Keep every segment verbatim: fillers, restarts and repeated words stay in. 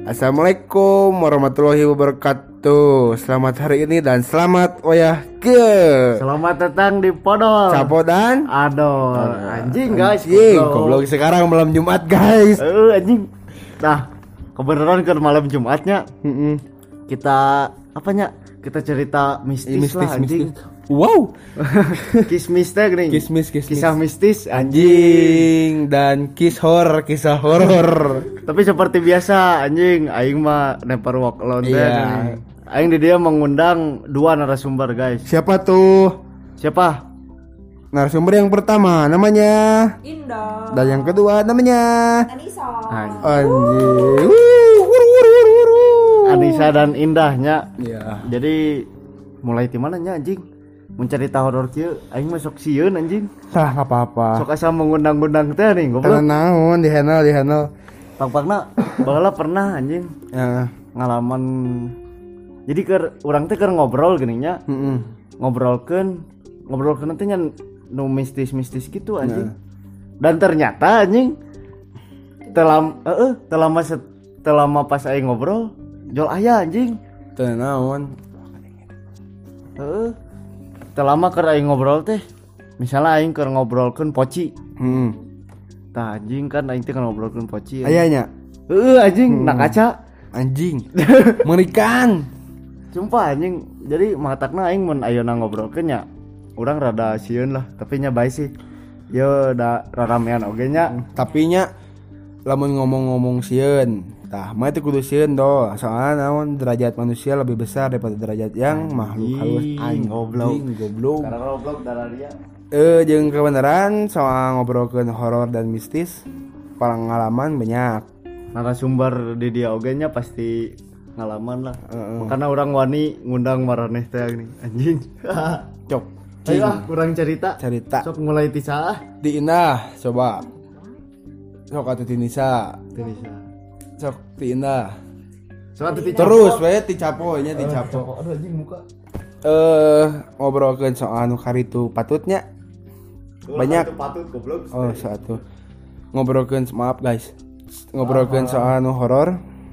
Assalamualaikum warahmatullahi wabarakatuh. Selamat hari ini dan selamat wayah ke. Selamat datang di Podol Capo dan Aduh, anjing guys. Anjing, goblok sekarang malam Jumat guys. Eh, anjing. Nah, kebenaran ke malam Jumatnya. Mm-mm. Kita apanya? Kita cerita mistis, Mistis, lah anjing. mistis. Wow. Kismis teh gini. Kismis, kismis. Kisah mistis anjing. Anjing dan kiss horror, kisah horor. Tapi seperti biasa anjing, aing mah never walk alone teh. Iya. Aing di dia mengundang dua narasumber guys. Siapa tuh? Siapa? Narasumber yang pertama namanya Indah. dan yang kedua namanya Anissa. anjing. Wuh, wuru, wuru, wuru, wuru. Anissa dan Indahnya. Iya. Jadi mulai di mana nya anjing? Mencari tahu horor kieu aing mah sok sieun anjing. Tah enggak apa-apa. Sok asa mengundang-undang teh nih Tanah goblok. naon di handle di handle. Pang-pangna baheula pernah anjing Ya. ngalaman. Jadi keur urang teh keur ngobrol geuning nya. Heeh. Ngobrolkeun ngobrolkeun teh nya nu mistis-mistis gitu anjing. Dan ternyata anjing telam heeh telama set, telama pas aing ngobrol jol aya anjing. Teu naon. Heeh. Telama keur aing ngobrol teh misalnya aing keur ngobrolkeun poci. Heeh. Tah anjing kan aing teh keur ngobrolkeun poci. Aya nya. Heeh anjing nak kaca. Anjing. Mengerikan. Sumpah anjing. Jadi matakna aing mun ayeuna ngobrolkeun nya urang rada sieun lah, tapi nya bae sih. Yo da raramean oge nya. Tapi nya lamun ngomong-ngomong sieun, tah mah teh kudu sieun doh. Soalnya naon derajat manusia lebih besar daripada derajat yang makhluk halus. Anjing, goblok. Anjing, goblok. Karena goblok darah dia. Eh jeung kebenaran soal ngobrolkeun horor dan mistis, pengalaman banyak. Narasumber di dia oge nya pasti ngalaman lah. Heeh. Makanya orang wani ngundang maraneh teh nih anjing. Cok. Ayo ah kurang cerita. Cerita. Sok mulai ti saah? Di Indah, coba. Sok atuh ti Nisa. Teu bisa. Sok ti Indah. Sok atuh ti Terus we ti Capo nya ti Capo. Aduh anjing muka. Eh ngobrolkeun soal anu karitu patutnya. Banyak. Patut goblok. Oh, satu. Ngobrolkeun maaf guys. Ngobrolkeun soal anu horor.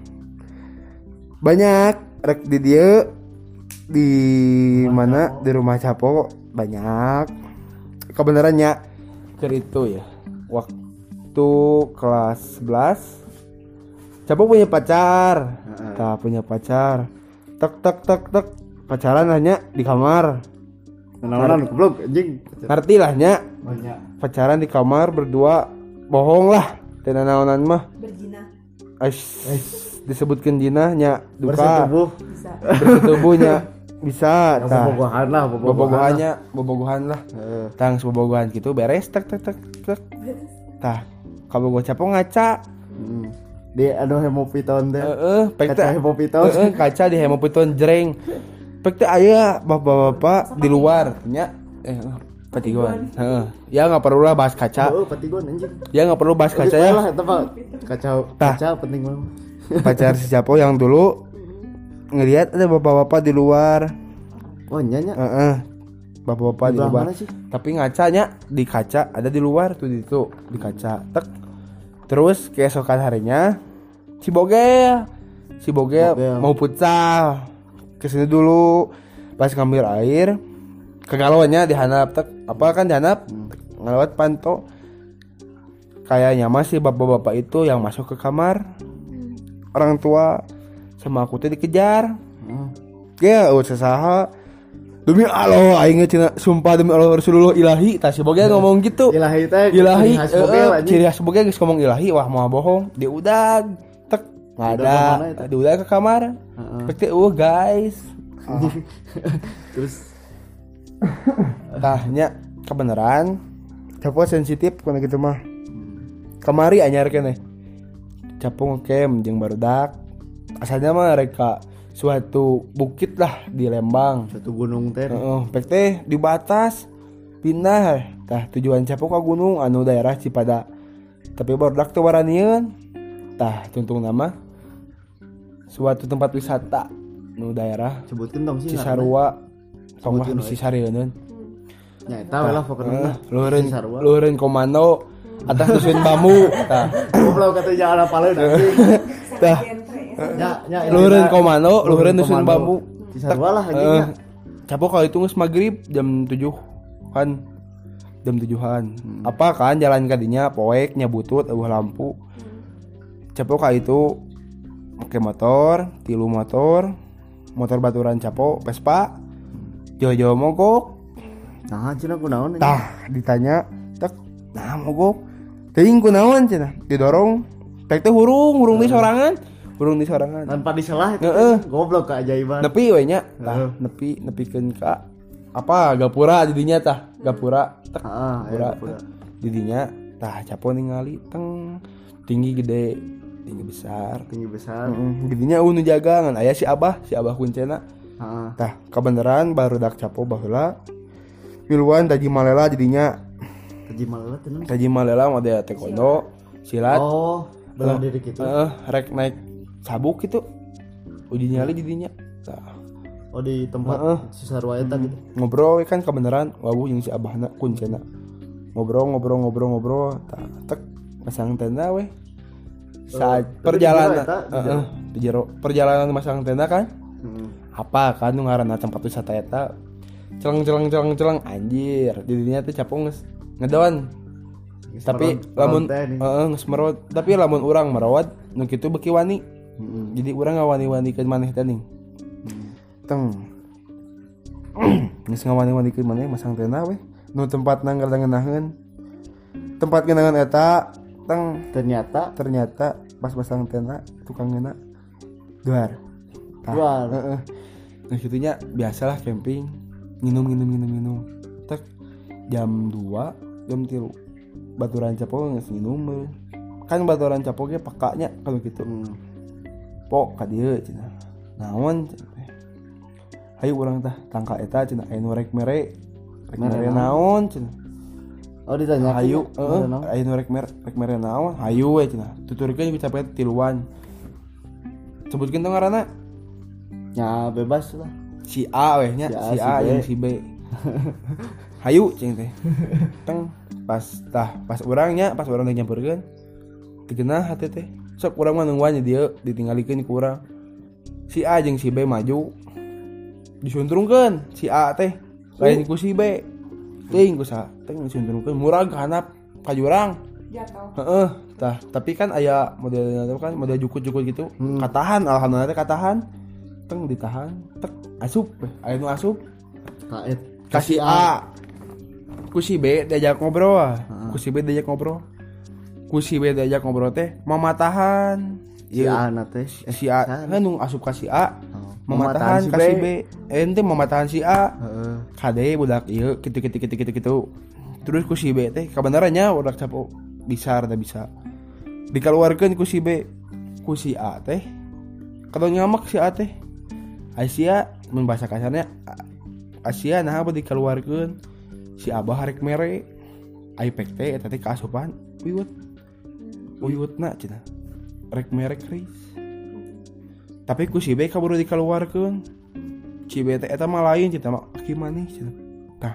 Banyak rek di dieu di mana di rumah Capo banyak. Kebenarannya keur itu ya. Waktu kelas sebelas Capo punya pacar. Tah punya pacar. Tek tek tek tek pacaran hanya di kamar. Kenalan goblok anjing. Ngerti lah nya. Banyak. Pacaran di kamar berdua bohong lah. Teu naonan mah. Berjina. Ais disebutkeun jinahnya duka. Bersetubuh. Bisa. Bersetubuhnya bisa Ya, tah. bobogohan lah, bobogohan. Bobogohannya, bobogohan lah. Heeh. Tang bobogohan gitu beres tek tek tek tek. Tah, kalau gua Capo ngaca. Hmm. Di anu hemopiton teh. Heeh, pek Kaca teh hemopiton. heeh, kaca di hemopiton jreng. Pek teh aya bapak-bapak di luar nya eh patiguan. Heeh. Ya enggak perlu lah bahas kaca. Oh, patigon anjing. Ya enggak perlu bahas kaca ya. Lah eta mah kacau. Tah. Kaca penting banget. Pacar si Capo yang dulu ngelihat ada bapak-bapak di luar. Oh, nya nya. Heeh. Bapak-bapak di Di luar. mana sih? Tapi ngacanya di kaca ada di luar tuh di itu di kaca. Tek. Terus keesokan harinya si Bogel, si Bogel, Bogel. mau futsal. Kesini dulu pas ngambil air kegalauannya dihanap tek apa kan dihanap Hmm. ngelewat panto. Kayaknya masih bapak-bapak itu yang masuk ke kamar. Orang tua sama aku teh dikejar. Hmm. Ya, oh sesaha. Demi Allah, aing cenah sumpah demi Allah Rasulullah ilahi, tah si Bogel ngomong gitu. Ilahi teh. Ilahi, ciri khas Bogel, eh, anjing. ciri khas Bogel geus ngomong ilahi, wah mau bohong. Dia udah tek enggak Udah ke mana ada. itu? Dia udah ke kamar. Heeh. Pek teh uh guys. Terus Tahnya kebenaran. Capo sensitif kana gitu mah. Kamari anyar keneh. Capo ngecamp jeung barudak. Asalnya mah reka suatu bukit lah di Lembang. satu gunung teh. Heeh, pek teh di batas pindah tah tujuan Capo ka gunung anu daerah Cipada. Tapi barudak teh waranieun. Tah tuntung nama suatu tempat wisata nu daerah Sebutkeun dong sih. Cisarua. Tong lah Sebutkeun bisi sareuneun. Nya eta lah pokoknya. Luheureun Cisarua. luheureun komando atas dusun bambu tah. Goblok kata jangan apaleun anjing. Tah nya nya luhureun komando luhureun dusun bambu Cisarua lah anjing nya. Capok kalau itu geus maghrib jam tujuh kan jam tujuhan hmm. apa kan jalan kadinya poek nya butut eueuh lampu Capok ka itu pakai motor tilu motor motor baturan Capok Vespa jauh-jauh mogok nah cenah kunaon tah ditanya tek nah mogok teuing kunaon cenah didorong tek teh hurung hurung di sorangan hurung di sorangan tanpa diselah itu heeh goblok keajaiban nepi we nya tah nepi nepikeun ka apa gapura didinya tah gapura tek heeh gapura didinya tah Capok ningali teng tinggi gede tinggi besar tinggi besar heeh didinya eueuh nu jaga ngan aya si Abah si Abah kuncena heeh tah kabeneran barudak Capok baheula piluan taji malela jadinya taji malela teh taji malela model taekwondo silat oh bela diri gitu heeh rek naik sabuk gitu uji nyali jadinya tah oh di tempat uh, Cisarua eta gitu ngobrol kan kebenaran wabuh jeung si abahna kuncena ngobrol ngobrol ngobrol ngobrol tah tek masang tenda weh saat uh, perjalanan heeh di jero perjalanan masang tenda kan hmm. apa kan nu ngaranna tempat wisata eta celeng celeng celeng celeng anjir jadinya teh Capok geus ngedon tapi lamun heeh geus merot tapi lamun urang merawat nu kitu beki wani hmm. jadi urang ngawani-wanikeun maneh teh ning hmm. teng geus ngawani-wanikeun maneh masang tenda weh nu tempatna ngeunahkeun tempat ngeunahkeun eta teng ternyata ternyata pas masang tenda tukangna duar duar heeh nah kitunya biasalah camping minum minum minum minum tek jam dua jam tilu baturan Capok geus minum kan baturan Capok ge pakanya kalau gitu hmm. pok ka dieu cenah naon hayu urang tah tangka eta cenah aya nu rek mere rek mere naon cenah oh ditanya hayu heeh aya nu rek mere rek mere naon hayu we cenah tuturkeun ku capek tiluan sebutkeun tong ngaranna nya bebas lah si A weh nya si A jeung si B hayu cing teh teng pas tah pas urangnya pas urang teh nyampeurkeun digeunah hate teh sok urang mah nungguan dieu ditinggalikeun ku urang si A jeung si B maju disuntrungkeun si A teh lain ku si B teuing ku sa teh disuntrungkeun murag handap ka jurang jatuh heeh tah tapi kan aya modelna kan model jukut-jukut gitu hmm. katahan alhamdulillah teh katahan teng ditahan tek asup aya nu asup kaet kasih A ku si B diajak ngobrol uh. ku si B diajak ngobrol ku si B diajak ngobrol teh mamatahan si A na teh si A kan nu asup ka si A oh. mamatahan ka si B ente mamatahan si A heeh uh. kade budak ieu kitu-kitu kitu-kitu kitu terus ku si B teh kabenarannya budak Capok bisa rada bisa dikeluarkeun ku si B ku si A teh kalau ngamak si A teh Asia mun bahasa kasarnya Asia nah apa dikeluarkeun si Abah rek mere aipek teh eta teh kaasupan wiwut wiwutna cenah rek mere kris tapi ku si B kaburu dikeluarkeun si B teh eta mah lain cenah mah aki maneh cenah tah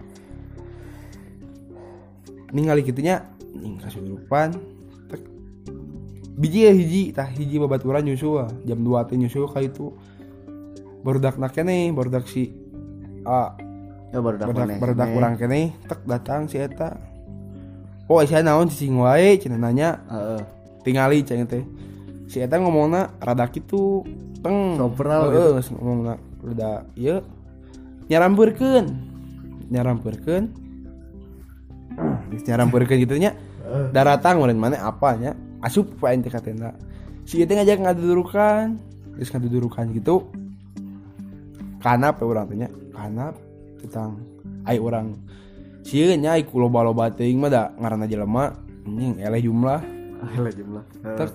ningali kitunya ning kasurupan tek biji hiji tah hiji babaturan nyusul jam dua teh nyusul ka itu barudak nak keneh barudak si A ya barudak barudak barudak urang keneh tek datang si eta oh sia naon cicing wae cenah nanya heeh tingali cenah teh si eta ngomongna rada kitu teng sopral heeh gitu. Ngomongna rada ieu nyarampeurkeun nyarampeurkeun geus nyarampeurkeun kitu nya daratang meureun maneh apa nya asup wae teh ka tenda si eta ngajak ngadudurukan geus ngadudurukan gitu kanap ya urang teh nya kanap tentang ai urang sieun nya ai ku loba-loba teuing mah da ngaranna jelema anjing eleh jumlah eleh jumlah tek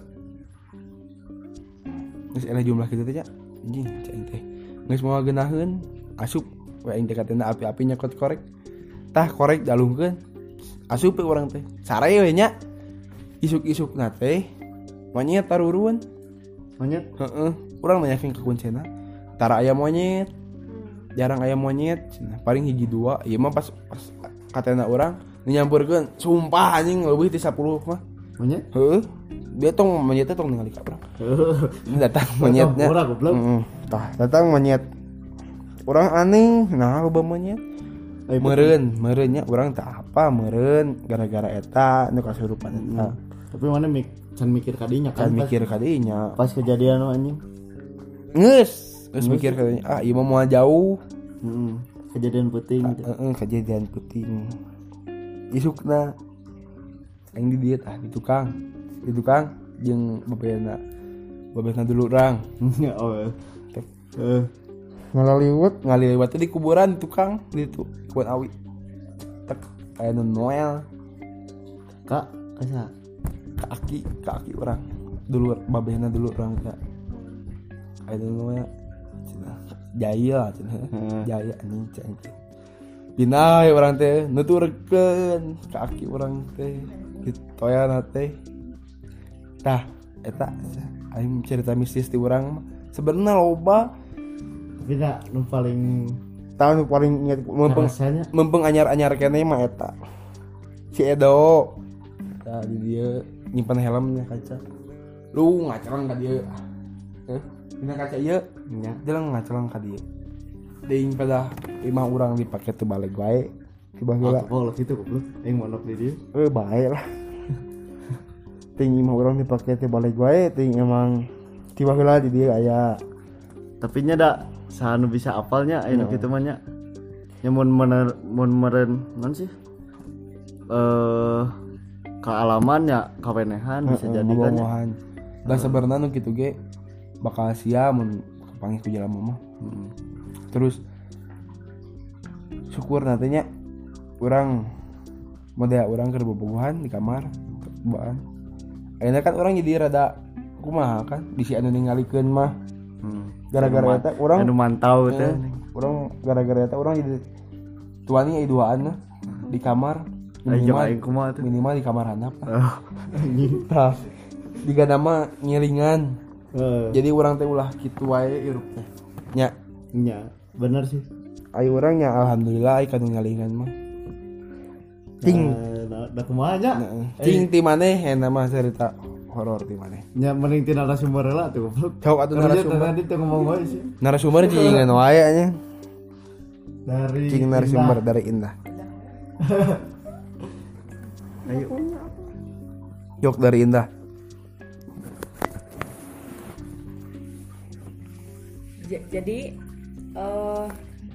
geus eleh jumlah kitu teh nya anjing cai teh geus moal geunaheun asup we aing teh katena api-api nyekot korek tah korek dalungkeun asup we urang teh sare we nya isuk-isukna teh monyet taruruan monyet heeh urang nanyakeun ka kuncena tara aya monyet jarang aya monyet cenah paling hiji dua ieu mah pas pas katena urang nyampeurkeun sumpah anjing leuwih ti sepuluh mah monyet heueuh dia tong monyetnya tong ningali ka urang. Datang monyetnya. Urang goblok. Heeh. Tah, datang monyet. Urang aneh, nah loba monyet. Meureun, meureunnya urang teh apa meureun gara-gara eta nu kasurupan eta. Tapi mana mik can mikir kadinya Kan kan. mikir ka dinya. Pas kejadian anjing. Geus, geus mikir ka dinya. Ah, ieu mah moal jauh. Heeh. Kejadian penting gitu. Heeh, kejadian penting. Isukna aing di dieu tah di tukang. Di tukang jeung babehna. Babehna dulu urang. Oh. Eh, Ngalaliwat, ngalaliwat di kuburan di tukang di tu kuburan awi. Tek aya nu Noel. Kak, asa Kaki, kaki orang. Dulu babehna dulu orang teh. Aya nu Noel. Cenah jaya cenah. Jaya anjing cenah. Dina urang teh nuturkeun kaki urang teh ditoyana teh. Tah eta aing cerita mistis ti urang mah sebenarnya loba. tapi tak nu paling Tahu paling inget mempeng rasanya mempeng anyar-anyar kene mah eta. Si Edo. Tah di dia nyimpen helmnya kaca. Lu ngacerang ka dieu. Heh, dina kaca ieu nya dia ngacerang ka dieu. Deing pada lima orang dipake teu balik wae. Tiba heula. oh gitu goblok aing monok di dieu Eh bae lah. Ting lima orang dipake teu balik wae, ting emang tiba heula di dieu aya. tapi nya da sanu bisa apalnya aya nu kitu mah nya nya mun mener mun meureun naon sih eh kealamannya kawenehan bisa jadi kan nya. Ngomongan. Dan sebenarnya nu kitu ge bakal sia mun kapanggih ku jelema mah. Hmm. Terus syukur nantinya orang model orang keur bobogohan di kamar baan. Ayeuna kan orang jadi rada kumaha kan bisi anu ningalikeun mah. Hmm. Gara-gara eta urang anu mantau teh urang gara-gara eta urang jadi tuani aya duaan mah di kamar minimal minimal aing kumaha teh minimal di kamar handap. oh anjing Tah diga nama ngiringan. eh Jadi urang teh ulah kitu wae irup teh. Nya nya bener sih aya urang nya alhamdulillah aya kanu ngalingan mah. Ting da da kumaha nya ting ti maneh eta mah cerita horor ti maneh. nya mending ti narasumber heula tuh goblok Cau atuh narasumber. tadi teh ngomong wae sih Narasumber jingan wae nya. dari Cing narasumber dari Indah. ayo Jok dari Indah. J- jadi eh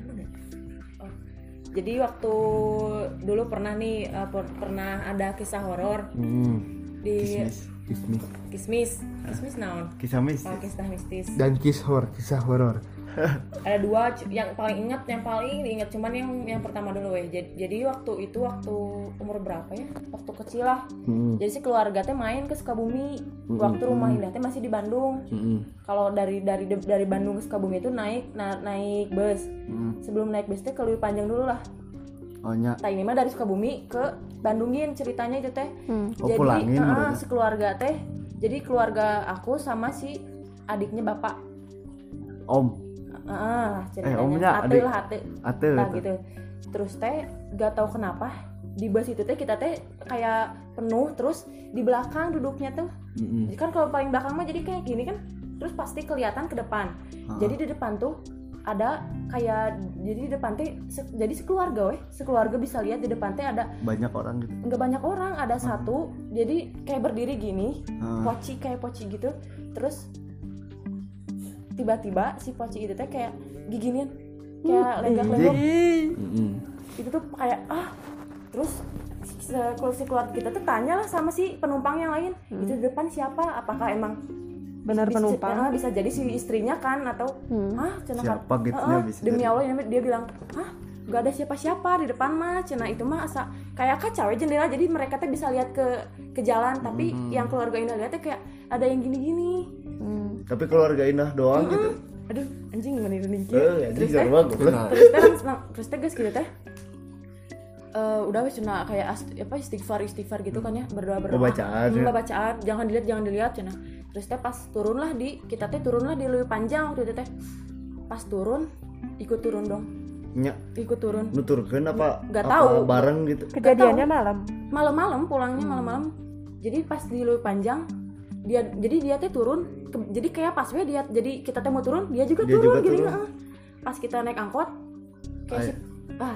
oh, jadi waktu dulu pernah nih eh, per- pernah ada kisah horor Hmm. di Kismis. kismis kismis naon kisah mis oh, kisah mistis Dan kiss horror, kisah horor. ada dua c- yang paling ingat yang paling diingat cuman yang yang pertama dulu weh jadi, jadi waktu itu waktu umur berapa ya waktu kecil lah Hmm. jadi si keluarga teh main ke Sukabumi waktu rumah Indah teh masih di Bandung. Heeh. Kalau dari dari dari Bandung ke Sukabumi itu naik na, naik bus Hmm. sebelum naik bus teh ke Leuwi Panjang dulu lah. oh nya Nah ini mah dari Sukabumi ke Bandungin ceritanya itu teh. Oh, Jadi pulangin ah, berarti. sekeluarga teh. Jadi keluarga aku sama si adiknya bapak. om Ah, Eh, ceritanya. omnya Ate adik. lah ate. ate Nah tuh. gitu. Terus teh gak tahu kenapa di bus itu teh kita teh kayak penuh terus di belakang duduknya tuh. Heeh. Jadi kan kalau paling belakang mah jadi kayak gini kan. Terus pasti kelihatan ke depan. Jadi di depan tuh ada kayak jadi di depan teh se- jadi sekeluarga weh sekeluarga bisa lihat di depan teh ada banyak orang gitu nggak banyak orang ada satu jadi kayak berdiri gini Hmm. poci kayak poci gitu terus tiba-tiba si poci itu teh kayak giginin kayak legak-legok Heeh. itu tuh kayak ah terus si, si keluarga kita tuh tanya lah sama si penumpang yang lain itu di depan siapa apakah emang Benar bisa, penumpang. ah, bisa jadi si istrinya kan atau Hmm. ah cenah kan Siapa gitu ah, nya ah, bisa demi jadi. Allah ini dia bilang ah gak ada siapa-siapa di depan mah cenah itu mah asa kayak kaca we jendela jadi mereka tuh bisa lihat ke ke jalan tapi yang keluarga Indah lihat tuh kayak ada yang gini-gini Hmm. tapi keluarga Indah doang gitu aduh anjing gini gini eh anjing terus teh jangan banget goblok. terus teh langsung- terus teh guys gitu teh Eh, udah wes cenah kayak ast- apa istighfar istighfar gitu kan ya berdoa berdoa Bacaan, ya. Hmm, bacaan jangan dilihat jangan dilihat cenah terus teh pas turunlah di kita teh turunlah di Leuwi Panjang waktu itu teh pas turun ikut turun dong nya ikut turun nuturkeun apa Nggak apa tahu. bareng gitu Kejadiannya malam. malam-malam pulangnya malam-malam jadi pas di Leuwi Panjang dia jadi dia teh turun ke, jadi kayak pas we dia jadi kita teh mau turun dia juga Dia turun juga gini turun. heeh. Pas kita naik angkot kayak Ay. si, ah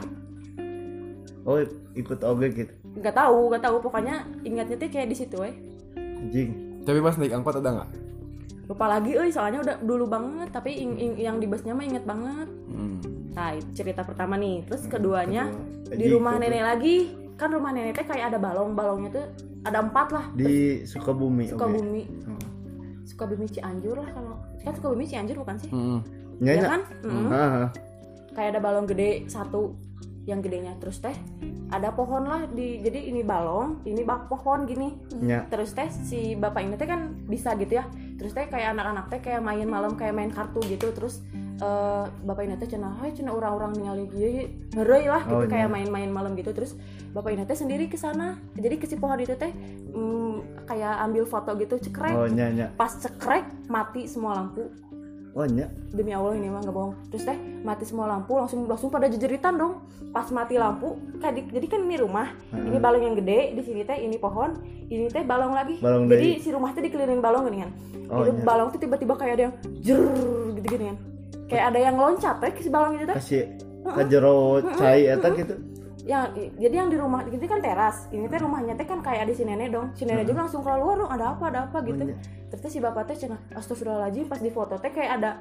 Oh ikut oge gitu nggak tahu nggak tahu pokoknya ingatnya teh kayak di situ we anjing. Tapi pas naik angkot ada nggak? lupa lagi euy soalnya udah dulu banget tapi ing, ing, yang di busnya mah inget banget. Hmm. Nah itu cerita pertama nih terus keduanya Kedua. di Jadi, rumah kedua. nenek lagi kan rumah nenek teh kayak ada balong balongnya tuh ada empat lah Di Sukabumi. Sukabumi Hmm. Sukabumi Cianjur lah kalau kan Sukabumi Cianjur bukan sih Hmm. Nya ya nya. kan Mm-mm. Heeh. kayak ada balong gede satu yang gedenya terus teh ada pohon lah di jadi ini balong ini bak pohon gini Nya. terus teh si bapak ini teh kan bisa gitu ya terus teh kayak anak-anak teh kayak main malam kayak main kartu gitu terus eh, bapak ini teh cenah hai cenah orang-orang ningali ieu heureuy lah gitu Oh, kayak iya. main-main malam gitu terus bapak ini teh sendiri ke sana jadi ke si pohon itu teh mm, kayak ambil foto gitu cekrek Oh nya nya. pas cekrek mati semua lampu Oh nya. demi Allah ini mah nggak bohong terus teh mati semua lampu langsung langsung pada jejeritan dong pas mati lampu kayak di- jadi kan ini rumah Hmm. ini balong yang gede di sini teh ini pohon ini teh balong lagi Balong jadi dari- si rumah teh dikelilingi balong gini kan Oh, itu iya. balong tuh tiba-tiba kayak ada yang jer gitu gini kan kayak ada yang loncat teh ke si balong itu teh Kasih kajero cai eta gitu. yang jadi yang di rumah ini kan teras ini teh rumahnya teh kan kayak ada si nenek dong si nenek juga langsung keluar dong ada apa ada apa gitu iya. terus si bapak teh cenah astagfirullahaladzim pas di foto teh kayak ada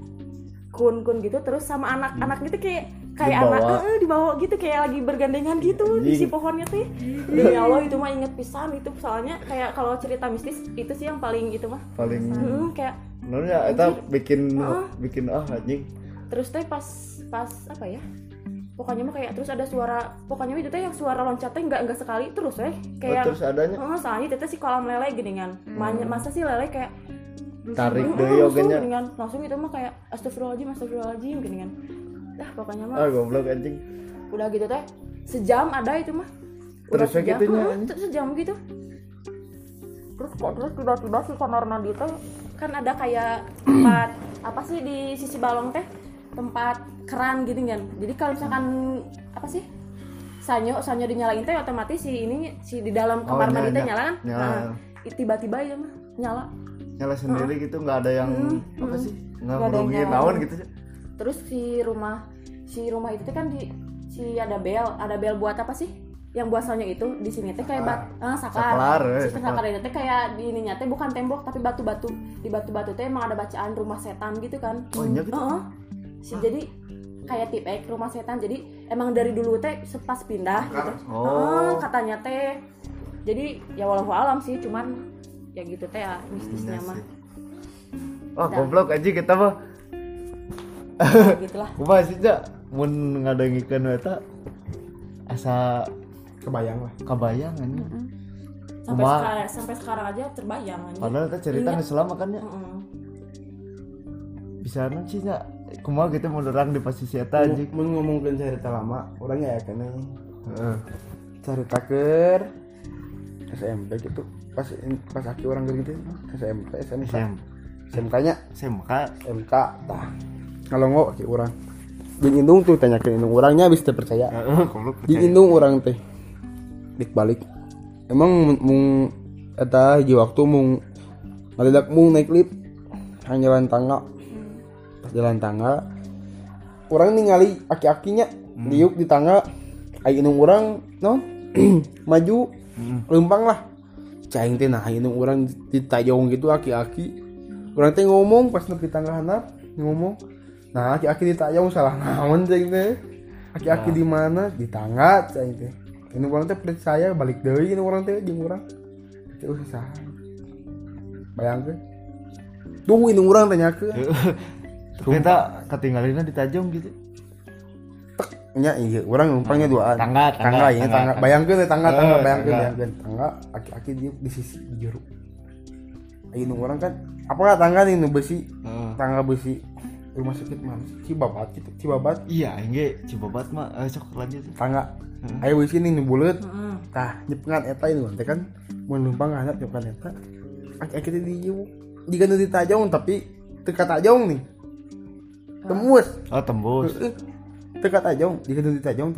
kun-kun gitu terus sama anak-anak gitu kayak kayak Dibawa. anak eh, dibawa gitu kayak lagi bergandengan gitu di si Anjing. pohonnya teh demi Allah itu mah inget pisan itu soalnya kayak kalau cerita mistis itu sih yang paling gitu mah Paling Hmm, kayak Nonnya eta bikin Heeh. bikin ah anjing. terus teh pas pas apa ya pokoknya mah kayak terus ada suara pokoknya itu teh yang suara loncatnya nggak nggak sekali terus eh Oh, kayak terus adanya oh, soalnya itu teh si kolam lele geningan Ma- masa sih lele kayak tarik Mm, deui langsung ogenya. geningan langsung itu mah kayak astagfirullahaladzim astagfirullahaladzim geningan dah pokoknya mah Ah goblok anjing. udah gitu teh sejam ada itu mah udah Terus sejam segitunya, Heeh, anjing. terus sejam gitu terus kok terus tiba-tiba si kamar mandi teh kan ada kayak tempat apa sih di sisi balong teh tempat keran gitu kan jadi kalau misalkan apa sih sanyo sanyo dinyalain teh otomatis si ini si di dalam Oh, kamar nyala, mandi teh nyala. nyala kan Nyala. nah i- tiba-tiba ya mah nyala Nyala sendiri gitu nggak ada yang Mm, apa mm. sih? Nggak Nggak ada yang ngerugiin nyala. naon gitu. terus si rumah si rumah itu tuh kan di si ada bel ada bel buat apa sih yang buat sanyo itu di sini teh kayak bat ah, sakar, Saklar, eh, sistem saklar. sakar itu teh kayak di ininya teh bukan tembok tapi batu-batu di batu-batu teh emang ada bacaan rumah setan gitu kan Oh, iya gitu? Heeh. Si, jadi kayak tip ek rumah setan jadi emang dari dulu teh pas pindah gitu Oh. Heeh, katanya teh jadi ya walau alam sih cuman ya gitu teh ya mistisnya Iya mah sih. Wah goblok aja kita mah. Ya, gitulah Kumaha sih ja mun ngadengikeun eta asa Kebayang lah. kabayang anjing. sampai Kumaha? sekarang sampai sekarang aja terbayang aja Padahal eta cerita Iya. geus selama kan ya. Heeh. Bisa nu sih nya kumaha gitu mun urang di posisi eta anjing. Mun ngomongkeun cerita lama, orangnya ya kene Heeh. cerita keur S M P gitu. Pas pas aki orang gitu S M P S M K. S M K-nya S M K S M K tah. Ngalongo aki urang. Jeung indung tuh tanyakeun indung urangnya bisa teu percaya. heeh goblok. Di indung urang teh dik balik. Emang mung- mung eta hiji waktu mung ngadadak mung naik lift hang jalan tangga. Pas jalan tangga urang ningali aki-akinya diuk di tangga ai indung urang non maju lempang lah. Caing teh nah indung urang ditayong gitu aki-aki. Urang teh ngomong pas nepi tangga handap ngomong. Nah, aki-aki ditayong salah naon cing teh. Aki-aki di mana? Di tangga cing teh. Ini orang teh percaya balik deui ini orang teh jeung urang. Teh usah saha. Bayangkeun. Tuh ini urang tanyakeun. Ternyata ketinggalinna di Tajong gitu. Nya iya, urang numpangnya duaan. Tangga, tangga, tangga, ini tangga. tangga. Bayangkeun teh tangga, tangga, Eh, bayangkeun, tangga. bayangkeun. Tangga, aki-aki di di sisi di jero. Ini urang kan apa tangga nih nu besi, Heeh. tangga besi. Rumah sakit mana? Cibabat gitu, Cibabat. Iya, engge Cibobat mah eh, sok lanjut. Tangga. Ayo besi nih nu buleut. Heeh. Tah nyepengan eta ini teh kan mun numpang anak nyepengan eta aki-aki teh di jika nu ditajong tapi teu katajong nih tembus Oh, tembus. Heeh. teu katajong jika nu ditajong tapi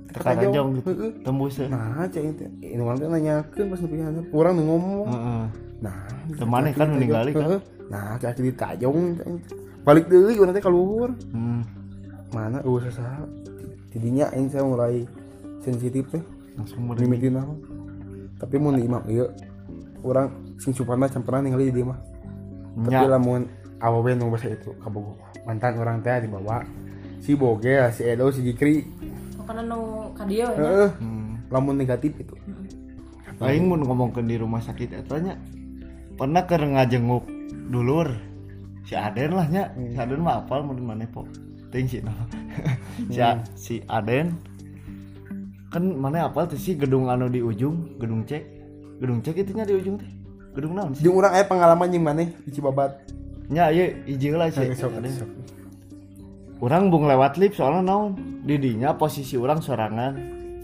Tekanjong gitu. Tembus. Nah, cai teh. Ini orang teh nanyakeun pas nepi handap. Urang nu ngomong. Heeh. Nah, Temannya kan meninggali kan. Nah, kaki ditajong. Balik deui urang teh ka luhur. Hmm. Mana eueuh sasaha. Tidinya aing saya mulai sensitif teh. Langsung Mimitin apa. Tapi mun di imam ieu urang sing supana campuran ningali di dieu mah. Tapi lamun awewe nu basa itu kabogoh. Mantan orang teh dibawa si Boge, si Edo, si Jikri. Oh, karena nu ka dieu nya. Heeh. Hmm. Lamun negatif itu. Aing mun ngomongkeun di rumah sakit eta nya pernah keur ngajenguk dulur si Aden lah nya. Si Aden mah apal mun maneh po. Teuing si nah. si, si Aden kan mana apal teh si gedung anu di ujung, gedung cek. Gedung cek itu nya di ujung teh. Gedung naon sih? Jeung urang aya pengalaman jeung maneh di Cibabat. Nya ieu hiji heula sih. Urang bung lewat lift soalnya naon? Di dinya posisi urang sorangan.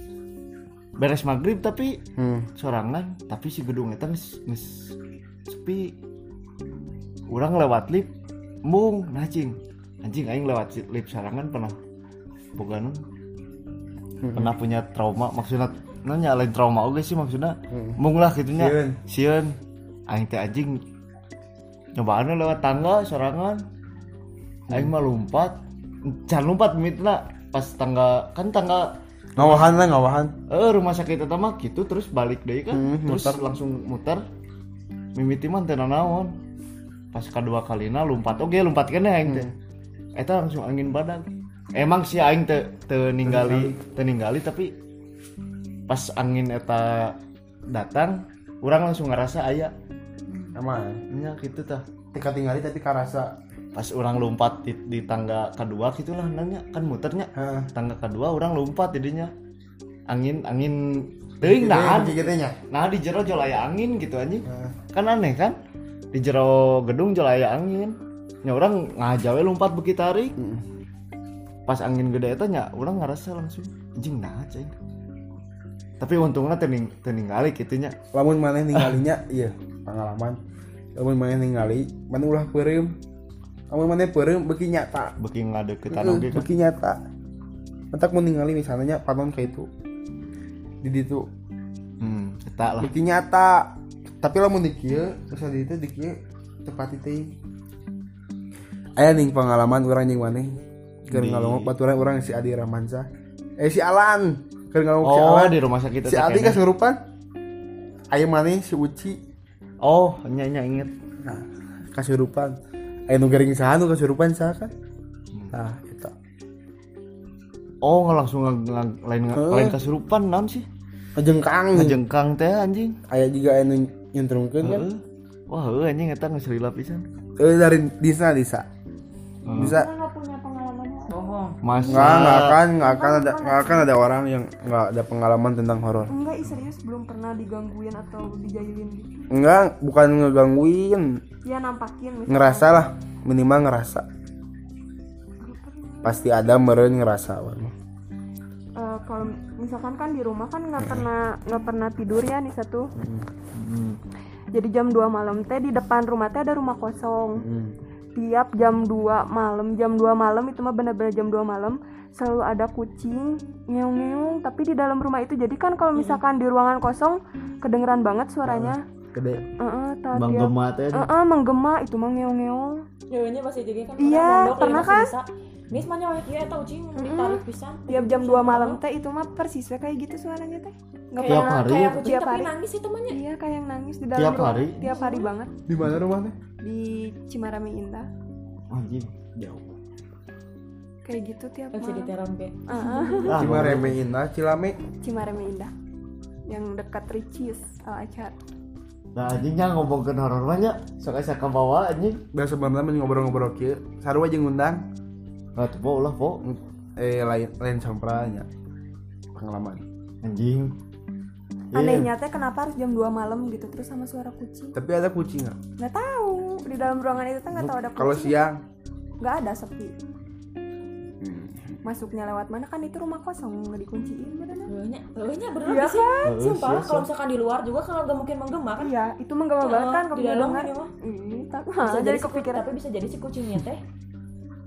Beres maghrib tapi hmm. sorangan, tapi si gedung eta geus geus sepi. Urang lewat lift mung anjing. Anjing aing lewat lift sorangan pernah boga nu. Hmm. Pernah punya trauma maksudna nanya lain trauma oge sih maksudna. Hmm. Mung lah kitu nya. Sieun. Aing teh anjing nyobaannya lewat tangga sorangan. Aing mah lompat. Can lompat mitna pas tangga kan tangga ngawahan lah ngawahan. Eh rumah sakit eta mah gitu terus balik deui kan. Hmm, terus muter. Langsung muter. Mimiti mah teu naon. Pas kadua kalina lompat oge lompat keneh aing teh. Hmm. Eta langsung angin badag. Emang sih aing teu teu ninggali teu ninggali tapi pas angin eta datang urang langsung ngerasa aya aman nya kitu tah tika tinggali tapi karasa pas urang lompat di, di tangga kedua gitulah nanya kan muternya ha. Tangga kedua urang lompat jadinya angin angin teuing nah nah di jero jol aya angin gitu anjing kan aneh kan di jero gedung jol aya angin nya urang ngajawe lompat beuki tarik hmm. Pas angin gede eta nya urang ngerasa langsung anjing nah cai tapi untungnya tening teninggali kitunya lamun maneh ninggalinya iya pengalaman lamun maneh ningali maneh ulah peureum lamun maneh peureum beuki nyata beuki ngadeuketan oge beuki nyata entak mun ningali misalnya panon ka itu di ditu hmm eta lah beuki nyata tapi lamun di kieu misal di ditu di kieu tepat teh aya ning pengalaman urang jeung maneh keur ngalongok baturan urang si Adi Ramansyah eh si Alan keur ngalongok oh, si Alan di rumah sakit si Adi kasurupan aya maneh si Uci oh nya nya inget nah kasurupan aya nu gering saha nu kasurupan saha kan hmm. Nah eta oh nggak langsung ng- lain uh. lain kasurupan naon sih ngajengkang ngajengkang teh anjing aya juga aya nu nyuntrungkeun kan uh. Wah heuh anjing eta geus lila pisan eh dari disa disa uh. Bisa enggak punya pengalaman bohong masa nggak nggak akan nggak akan ada nggak akan ada orang yang nggak ada pengalaman tentang horor enggak serius belum pernah digangguin atau dijailin gitu enggak bukan ngegangguin ya nampakin misalnya. Ngerasa lah minimal ngerasa pasti ada meureun ngerasa uh, kalau misalkan kan di rumah kan nggak hmm. pernah nggak pernah tidur ya nih satu hmm. Jadi jam dua malam teh di depan rumah teh ada rumah kosong hmm. Tiap jam dua malam jam dua malam itu mah benar-benar jam dua malam selalu ada kucing ngeong-ngeong tapi di dalam rumah itu jadi kan kalau misalkan di ruangan kosong kedengeran banget suaranya gede heeh uh, menggema teh heeh menggema itu mah ngeong-ngeong nyeunnya pasti jadi kan iya pernah kan Nis mah nyawa kieu eta ucing ditarik pisan tiap jam dua malam teh itu mah persis kayak gitu suaranya teh enggak pernah hari, kayak kucing tiap tapi hari. Nangis itu mah iya kayak yang nangis di dalam tiap rumah hari? tiap hari banget di mana rumahnya di Cimarame Indah anjing jauh kayak gitu tiap malam jadi terang be heeh Cimareme Indah Cilame Cimareme Indah yang dekat Ricis Al Azhar. Nah anjingnya ngomongkeun horor mah nya sok asa ka bawa anjing da sebenarnya ngobrol-ngobrol kieu sarua jeung ngundang ah tuh po ulah po eh lain lain sampranya pengalaman anjing anehnya teh kenapa harus jam dua malam gitu terus sama suara kucing tapi ada kucing nggak nggak tahu di dalam ruangan itu tuh nggak tahu ada kucing kalau siang nggak ada sepi hmm. Masuknya lewat mana kan itu rumah kosong nggak dikunciin beneran Leunya, leunya bener iya sih. kan? Sumpah lah kalau misalkan di luar juga kalau nggak mungkin menggema kan? Iya, itu menggema banget kan kalau di dalam dengar. ya mah. Ih, tak Bisa jadi jadi si, kepikiran. tapi bisa jadi si kucingnya teh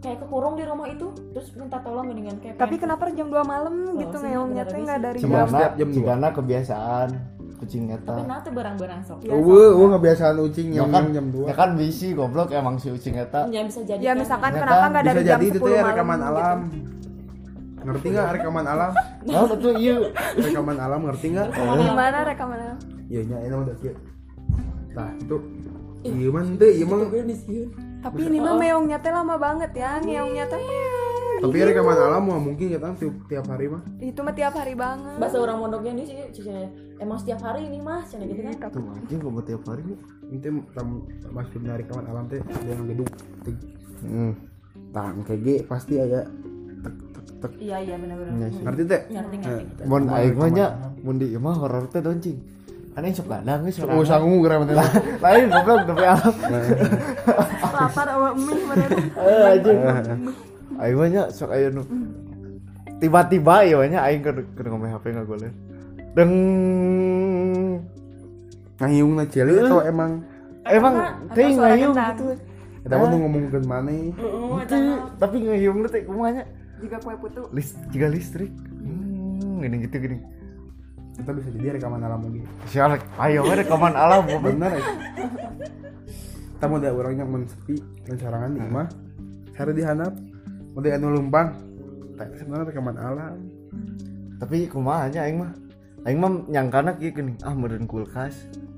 kayak kekurung di rumah itu terus minta tolong mendingan kayak Tapi pengen- kenapa jam dua malam gitu sih, ngeongnya bener teh abis. nggak dari Cuma jam setiap jam dua. Cigana kebiasaan kucing eta. tapi nah tuh berang-berang sok Iya, Eueuh, eueuh kebiasaan ucing Ya yang kan, jam dua. ya kan bisi goblok emang si ucing eta. ya bisa jadi Ya kan. misalkan Ya kenapa kan, nggak Bisa dari jam jadi itu sepuluh teh malam rekaman gitu. alam. Ngerti nggak rekaman alam? Nah, itu iya. Rekaman alam ngerti nggak? Gimana rekamannya? Iya nya ini mah udah kieu. Nah, itu iya mah teh iya mah. Tapi ini mah meongnya teh lama banget ya, ngeongnya teh. Tapi rekaman alam mah mungkin kita tiap, tiap hari mah. Itu mah tiap hari banget. bahasa orang mondoknya ini sih cicanya emang setiap hari ini mas cina gitu kan Tuh anjing gua tiap hari nih. Itu tamu masuk dari rekaman alam teh dia ngeduk. Hmm. Tah kayak ge pasti aya tek tek tek. iya iya benar-benar Iya sih. Ngerti teh? ngerti ngerti Eh, Mun rekaman aing mah nya alam. mun di imah horor teh doncing. Kan aing sok gadang geus Oh sangu geura teh. Lain goblok tapi alam. Lapar sama mie mereka. Eh anjing. Aing mah nya sok aya nu. Tiba-tiba ya nya aing keur keur ngomong H P ngagoler. Deng. Ngayung na celi atau emang Emang Atau teh suara ngayung gendang. gitu. eta mah nu ngomongkeun maneh. Itu tapi ngayung teh kumaha nya? Jika kue putu. List juga listrik. Hmm, gini gitu gini. Kita bisa jadi rekaman alam lagi. Sial, ayo we rekaman alam goblok. Bener ya. Kita mau ada orangnya mun sepi dan sorangan di imah. Sare dihandap. Mun anu lumpang. Tapi sebenarnya rekaman alam. Tapi kumaha nya aing mah? Aing mah nyangkana kieu geuning, ah meureun kulkas.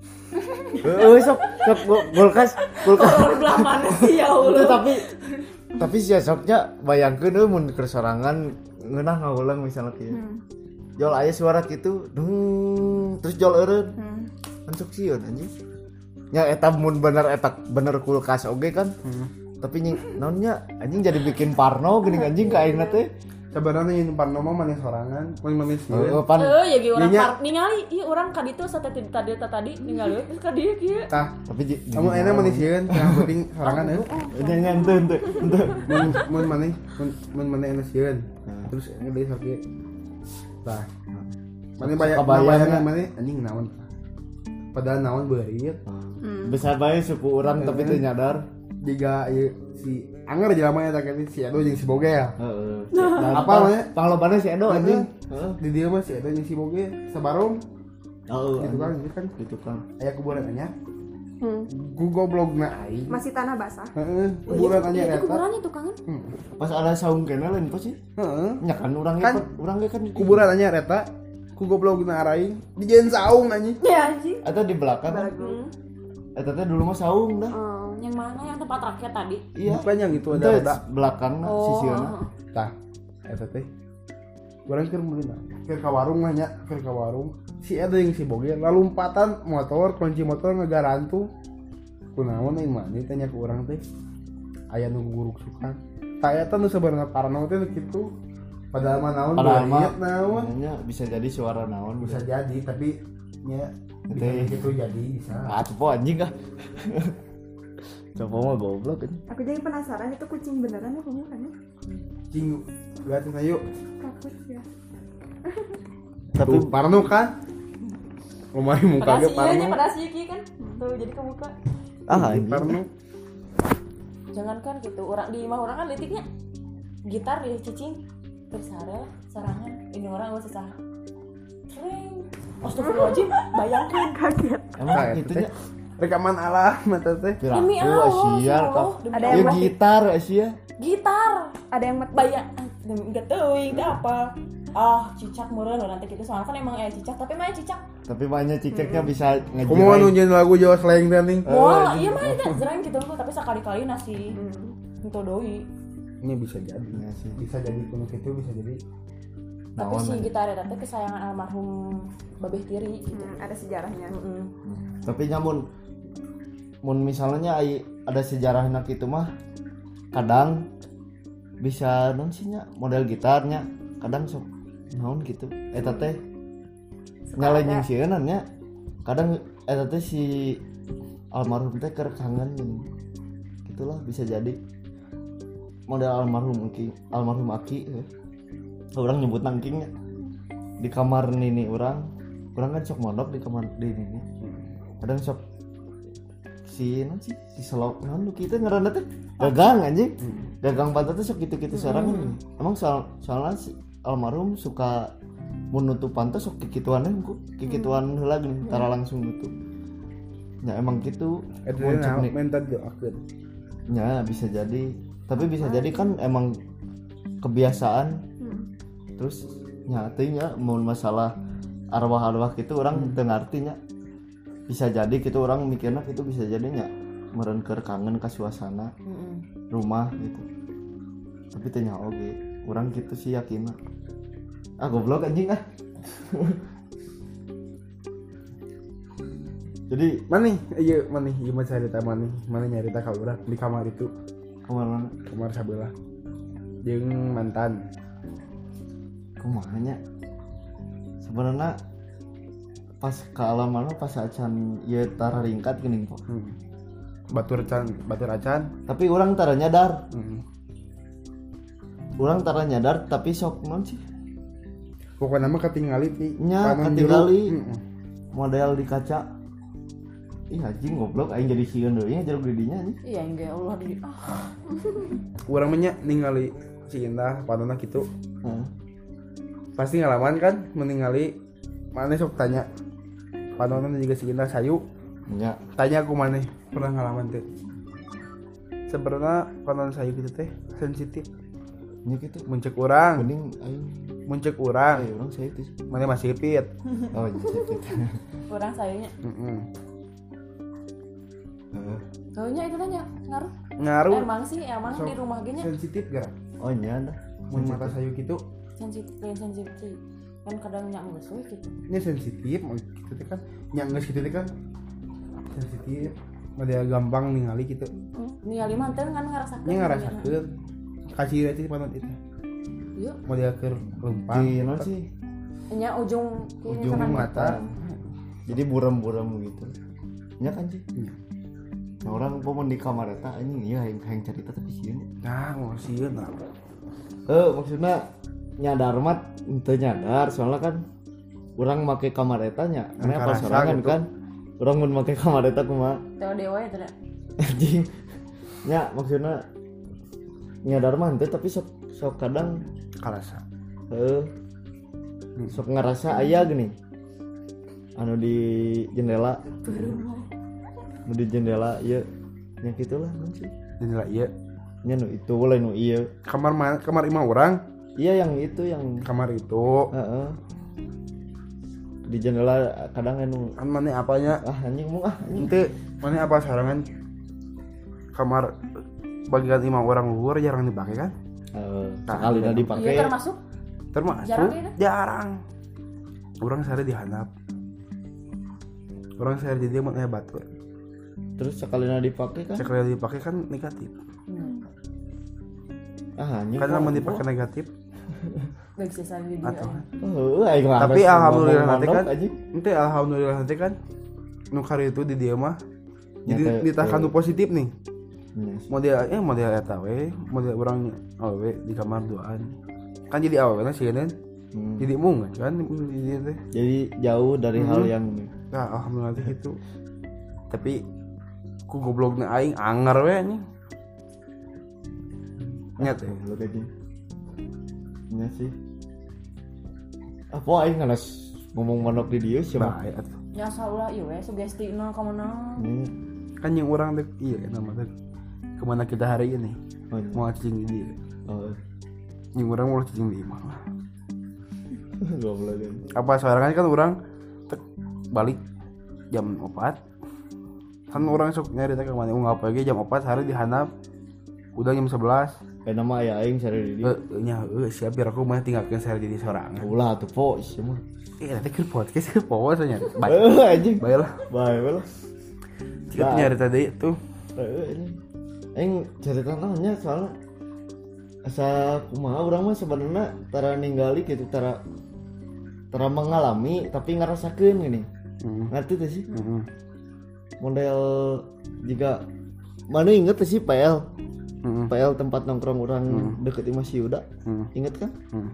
Heeh, sok sok gu- kulkas, kulkas. horor belah mana sih ya Itu Allah tapi tapi sia soknya bayangkeun euy mun keur sorangan ngeunah ngaulang misalnya kieu. Jol aya suara kitu, dung, terus jol eureun. Kan sok sieun anjing. Nya eta mun bener eta bener kulkas oge kan. Tapi nying naonnya anjing jadi bikin parno geuning anjing ka aingna teh. Sebenarnya yang parno mah maneh sorangan, mun maneh Heeh, sieun. pan. eh ya ge orang Iya, nya. par ningali iya orang ka ditu sa tadi tadi tadi ningali terus ka dieu kieu Tah, Tapi ji- kamu enak maneh sieun, yang penting sorangan ya. Nya nya henteu henteu henteu. Mun mun maneh mun mun maneh enak sieun. Terus ngede sakit. Tah. Maneh bayang Kebayang, bayangan ya. maneh anjing naon. Padahal naon beureut. Besar bae suku urang tapi teu nyadar. Jika ieu si anger jelema eta kan si Edo jeung si Boge ya. Heeh. Apa namanya? Panglobana si Edo anjing. Heeh. Di dia mah si Edo jeung si Boge sabarung Heeh. gitu kan, gitu kan. Gitu kan. Aya kuburan anyar. Hmm. Ku goblogna aing. Masih tanah basah. Heeh, kuburan anyar itu eta. kuburannya tuh kangen Pas ada saung kene lain pas sih. Heeh. Nya kan urang Kan, kan urang ge kan Kuburan anyar eta. Ku goblogna araing dijieun saung anjing. ya anjing eta di belakang kan. Eta teh dulu mah saung dah. Oh. yang mana yang tempat rakyat tadi Iya. Bukan yang itu ada Itu roda. belakang oh sisieuna. Tah, eta teh. Urang keur meulina. Keur ka warung mah nya, keur ka warung. Si Edo jeung si Boge lalumpatan motor, kunci motor ngagarantu. Kunaon ieu mah teh nya ku urang teh. Aya nu guruk sukan. Tah eta nu sebenarnya parno teh nu kitu. Padahal mah naon Padahal mah beureut naon. nya bisa jadi suara naon Bisa jadi tapi nya Teh. bisa gitu jadi bisa. Ah, cepo anjing kah. Cepo mah goblok kan. Aku jadi penasaran itu kucing beneran apa bukan ya? Cing, liatin ayo. Takut ya. Tapi Tuh, parno kan? Lumari muka pada ge si iya parno. pada si Iki kan tuh jadi kebuka ah anjing. Parno. jangankan gitu orang di imah orang kan letiknya gitar di cicing terus sare sarangan ini orang gak susah keren astagfirullahaladzim bayangkan Kaget. Emang Nah, gitu teh. nya. Rekaman alam eta teh. Demi Piraku Allah, Asia ya Allah, kah. demi Ada Ya yang masih- gitar Asia. gitar Ada yang met- bayang nggak tahu itu apa ah cicak meureun nanti gitu soalnya kan emang aya cicak tapi mah aya cicak Tapi banyak cicaknya bisa Kumaha ngejilain. nunjukin lagu Jawa slang teh ning. moal iya mah eta zreng gitu tuh tapi sekali-kali nasi itu doi Ini bisa jadi. Iya sih. Bisa jadi kuno itu bisa jadi. tapi Naon, si anjing. gitar eta teh kesayangan almarhum Babeh Tiri gitu Hmm, ada sejarahnya. Heeh. Tapi nyamun mun misalnya ai ada sejarahna kitu mah kadang bisa non sih nya model gitarnya kadang sok naon gitu eta teh nyalain yang sieun nya kadang eta teh si almarhum teh keur kangen gitulah bisa jadi model almarhum Aki almarhum Aki eh. Orang nyebut nangkingnya di kamar nini orang orang kan sok mondok di kamar di nini kadang sok si non sih si selok non lu kita ngaranna teh gagang anjing. Gagang pantat teh sok kitu-kitu sareng. Emang soal soalnya si almarhum suka menutup pantat sok kikituan ku kikituan heula gini tara langsung nutup. Ya emang gitu. Eta nah minta doakeun. Ya bisa jadi. Tapi bisa jadi kan emang kebiasaan. Terus nyatinya mau masalah arwah-arwah gitu orang teu ngartinya. Bisa jadi gitu orang mikirnya itu bisa jadinya meureun keur kangen ka suasana mm-hmm. rumah gitu. Tapi teu nya oge, urang gitu sih yakinna. Ah goblok anjing ah. Jadi mana nih? Iya mana nih? Gimana cerita mana nih? Mana nyarita ka urang di kamar itu? Kamar mana? Kamar sabelah. Jeung mantan. Kumaha nya? Sebenarnya pas ke alam mana pas acan ya tara ringkat gini kok hmm. batur can batur acan tapi orang tara nyadar hmm. orang tara nyadar tapi sok non sih pokoknya mah ketinggali ti nya ketinggali hmm. model di kaca ih anjing goblok aing jadi sieun deui nya jeruk didinya nih iya enggak Allah di ah. urang mah nya ningali si Indah panonna kitu hmm. pasti ngalaman kan meninggali mana sok tanya panonan juga si Indah sayu ya tanya aku mana pernah ngalaman teh sebenarnya panonan sayu gitu teh sensitif nya gitu muncul orang mending aing muncul orang ayo orang saya itu mana masih pit oh gitu orang sayanya heeh heeh Soalnya itu tanya ngaruh ngaruh emang sih emang so, di rumah gini sensitif gara oh nya dah mun mata sayu gitu sensitif yang sensitif kan kadang nyangges we gitu ini sensitif gitu teh kan nyangges gitu teh kan sensitif mah dia gampang ningali gitu ningali mah teh kan ngarasakeun nya ngarasakeun kasih aja panon itu yuk mau dia keur lempang di non sih nya ujung ujung mata jadi buram-buram gitu nya kan sih hmm. nah orang pomon di kamar eta anjing ieu hayang hayang cerita tapi sieun nah ngosieun nah eh maksudnya nyadar mat ente nyadar soalnya kan orang make kamar eta nya karena pas sorangan gitu. Kan orang mun make kamar eta kumaha teu dewa ya teh anjing nya maksudnya nyadar mah ente tapi sok sok kadang kalasa heuh sok ngerasa aya gini anu di jendela anu di jendela ieu nya gitulah mun sih jendela ieu nya nu itu lain nu ieu kamar mana kamar imah orang iya yang itu yang kamar itu heeh di jendela kadang anu kan mana apanya ah anjing mu ah anjing ente mana apa sarangan kamar bagian imah orang luhur jarang dipakai kan eh sekali dah dipakai iya termasuk termasuk jarang ya, jarang orang sehari dihandap orang sehari jadi mau batur terus sekali dah dipakai kan sekali dipakai kan negatif hmm. ah anjing karena mau dipakai negatif baik sisa di dia atau oh aing mah tapi alhamdulillah nanti kan anjing ente alhamdulillah nanti kan nukar itu di dia mah jadi Nyata, ditahan nu positif nih yes. model eh model eta we model orang awewe di kamar duaan kan jadi awewe sih kan hmm. jadi mung kan di dia teh jadi jauh dari hmm. hal yang nah alhamdulillah itu tapi ku goblokna aing anger we nih nyat ya lu kaji nya sih apa aing nganas ngomong manok di dia sih mah bae atuh ya salah ieu we sugestina ka mana kan yang orang dek iya kan nama dek kemana kita hari ini oh, iya. mau cicing di dia oh yang orang mau cicing di imah lah goblok kan apa sekarang kan orang tek balik jam empat kan orang sok nyari teh kemana ngapa lagi jam empat hari dihanap udah jam sebelas eh nama aya aing sare di eh nya eh siap biar aku mah tinggalkeun sare di sorangan ulah tuh po sih mah eh nanti keur podcast keur powo nya bae eh anjing bae lah bae lah kita nyari tadi tuh eh ini aing cerita naonnya soalnya asa kumaha urang mah sebenarnya tara ninggali gitu tara tara mengalami tapi ngarasakeun gini hmm. ngerti tuh sih hmm. model juga mana inget tuh sih P L hmm. P L tempat nongkrong orang hmm. deket Imah Siuda hmm. inget kan hmm.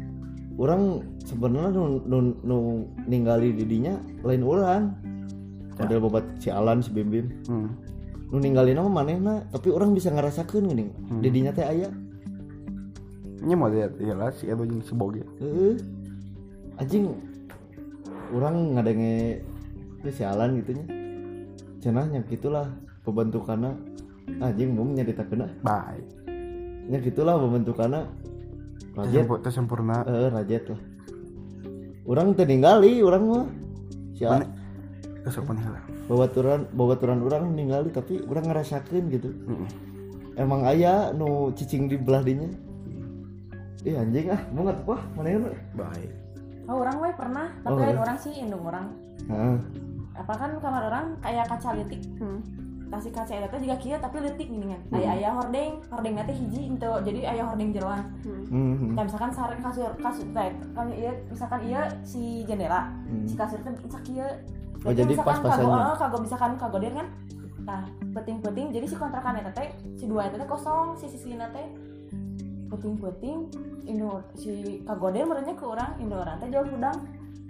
orang sebenarnya nu, nu, nu ninggali didinya lain orang model bobat si Alan si Bim Bim Hmm. nu ninggalin mah manehna tapi orang bisa ngerasakeun geuning Hmm. di dinya teh aya Nya model ieu lah si Edo jeung si Boge. heeh anjing urang ngadenge ke si Alan gitu nya cenah nya gitulah pembentukanna anjing mau nyaritakeun Baik. nya gitulah pembentukanna rajet Teu sempurna. heeh rajet lah urang teu ningali urang mah si Mana? Besok mana lah. babaturan babaturan urang ningali tapi urang ngerasakeun gitu Heeh. emang aya nu cicing di belah dinya ih anjing ah mau nggak wah mana ya Baik. Oh, orang we pernah, tapi Oh, lain ya? orang sih indung orang. heeh Apa kan kamar orang kayak kaca litik. Hmm. Kasih kaca eta teh juga kieu tapi litik gini kan. Hmm. Aya aya hordeng, hordengna teh hiji ente. Jadi aya hordeng jeroan. hmm. Dan misalkan sareng kasur kasur teh kan ieu misalkan ieu si jendela, Hmm. si kasur teh sak kieu. Oh, jadi pas-pasannya. Kago, kago misalkan kago dia kan. Nah, penting-penting jadi si kontrakan eta teh si dua eta teh kosong, si sisina teh penting-penting indung si kagoden merenya ke orang indung orang teh jauh udang.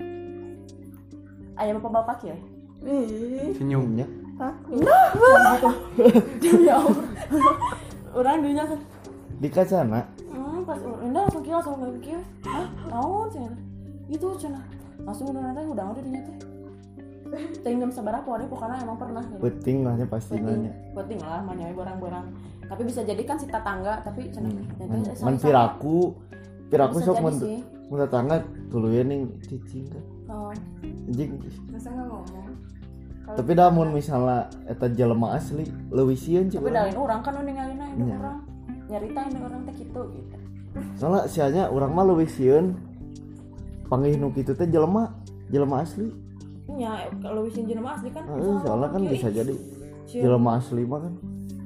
Aya bapak-bapak kieu. Ih. Senyumnya. Hah? Nah, gitu. Ya Allah. Orang dinya kan. Di kacana Hmm, pas Indah langsung kieu langsung ngomong kieu. Hah? Naon cenah? Itu cenah. Langsung udah nanti udah udah dinya teh. Teh jam sabaraha poe pokona emang pernah gitu. penting lah nya pasti Penting, nanya penting lah manyawe barang-barang. Tapi bisa jadi kan si tetangga tapi cenah. man, man piraku piraku Bisa sok jadi mun sih. mun tetangga tuluy ning cicing kan Oh, anjing Masa nggak ngomong? tapi dah mun misalnya eta jelema asli leuwih sieun tapi cik dalin orang kan nu ningalina indung Iya. orang. Nyarita indung orang teh kitu gitu. soalnya sianya urang mah leuwih sieun panggih nu kitu teh jelema jelema asli Nya kalau wisin jelema asli kan. heeh soalnya kan bisa jadi Sieun. jelema asli mah kan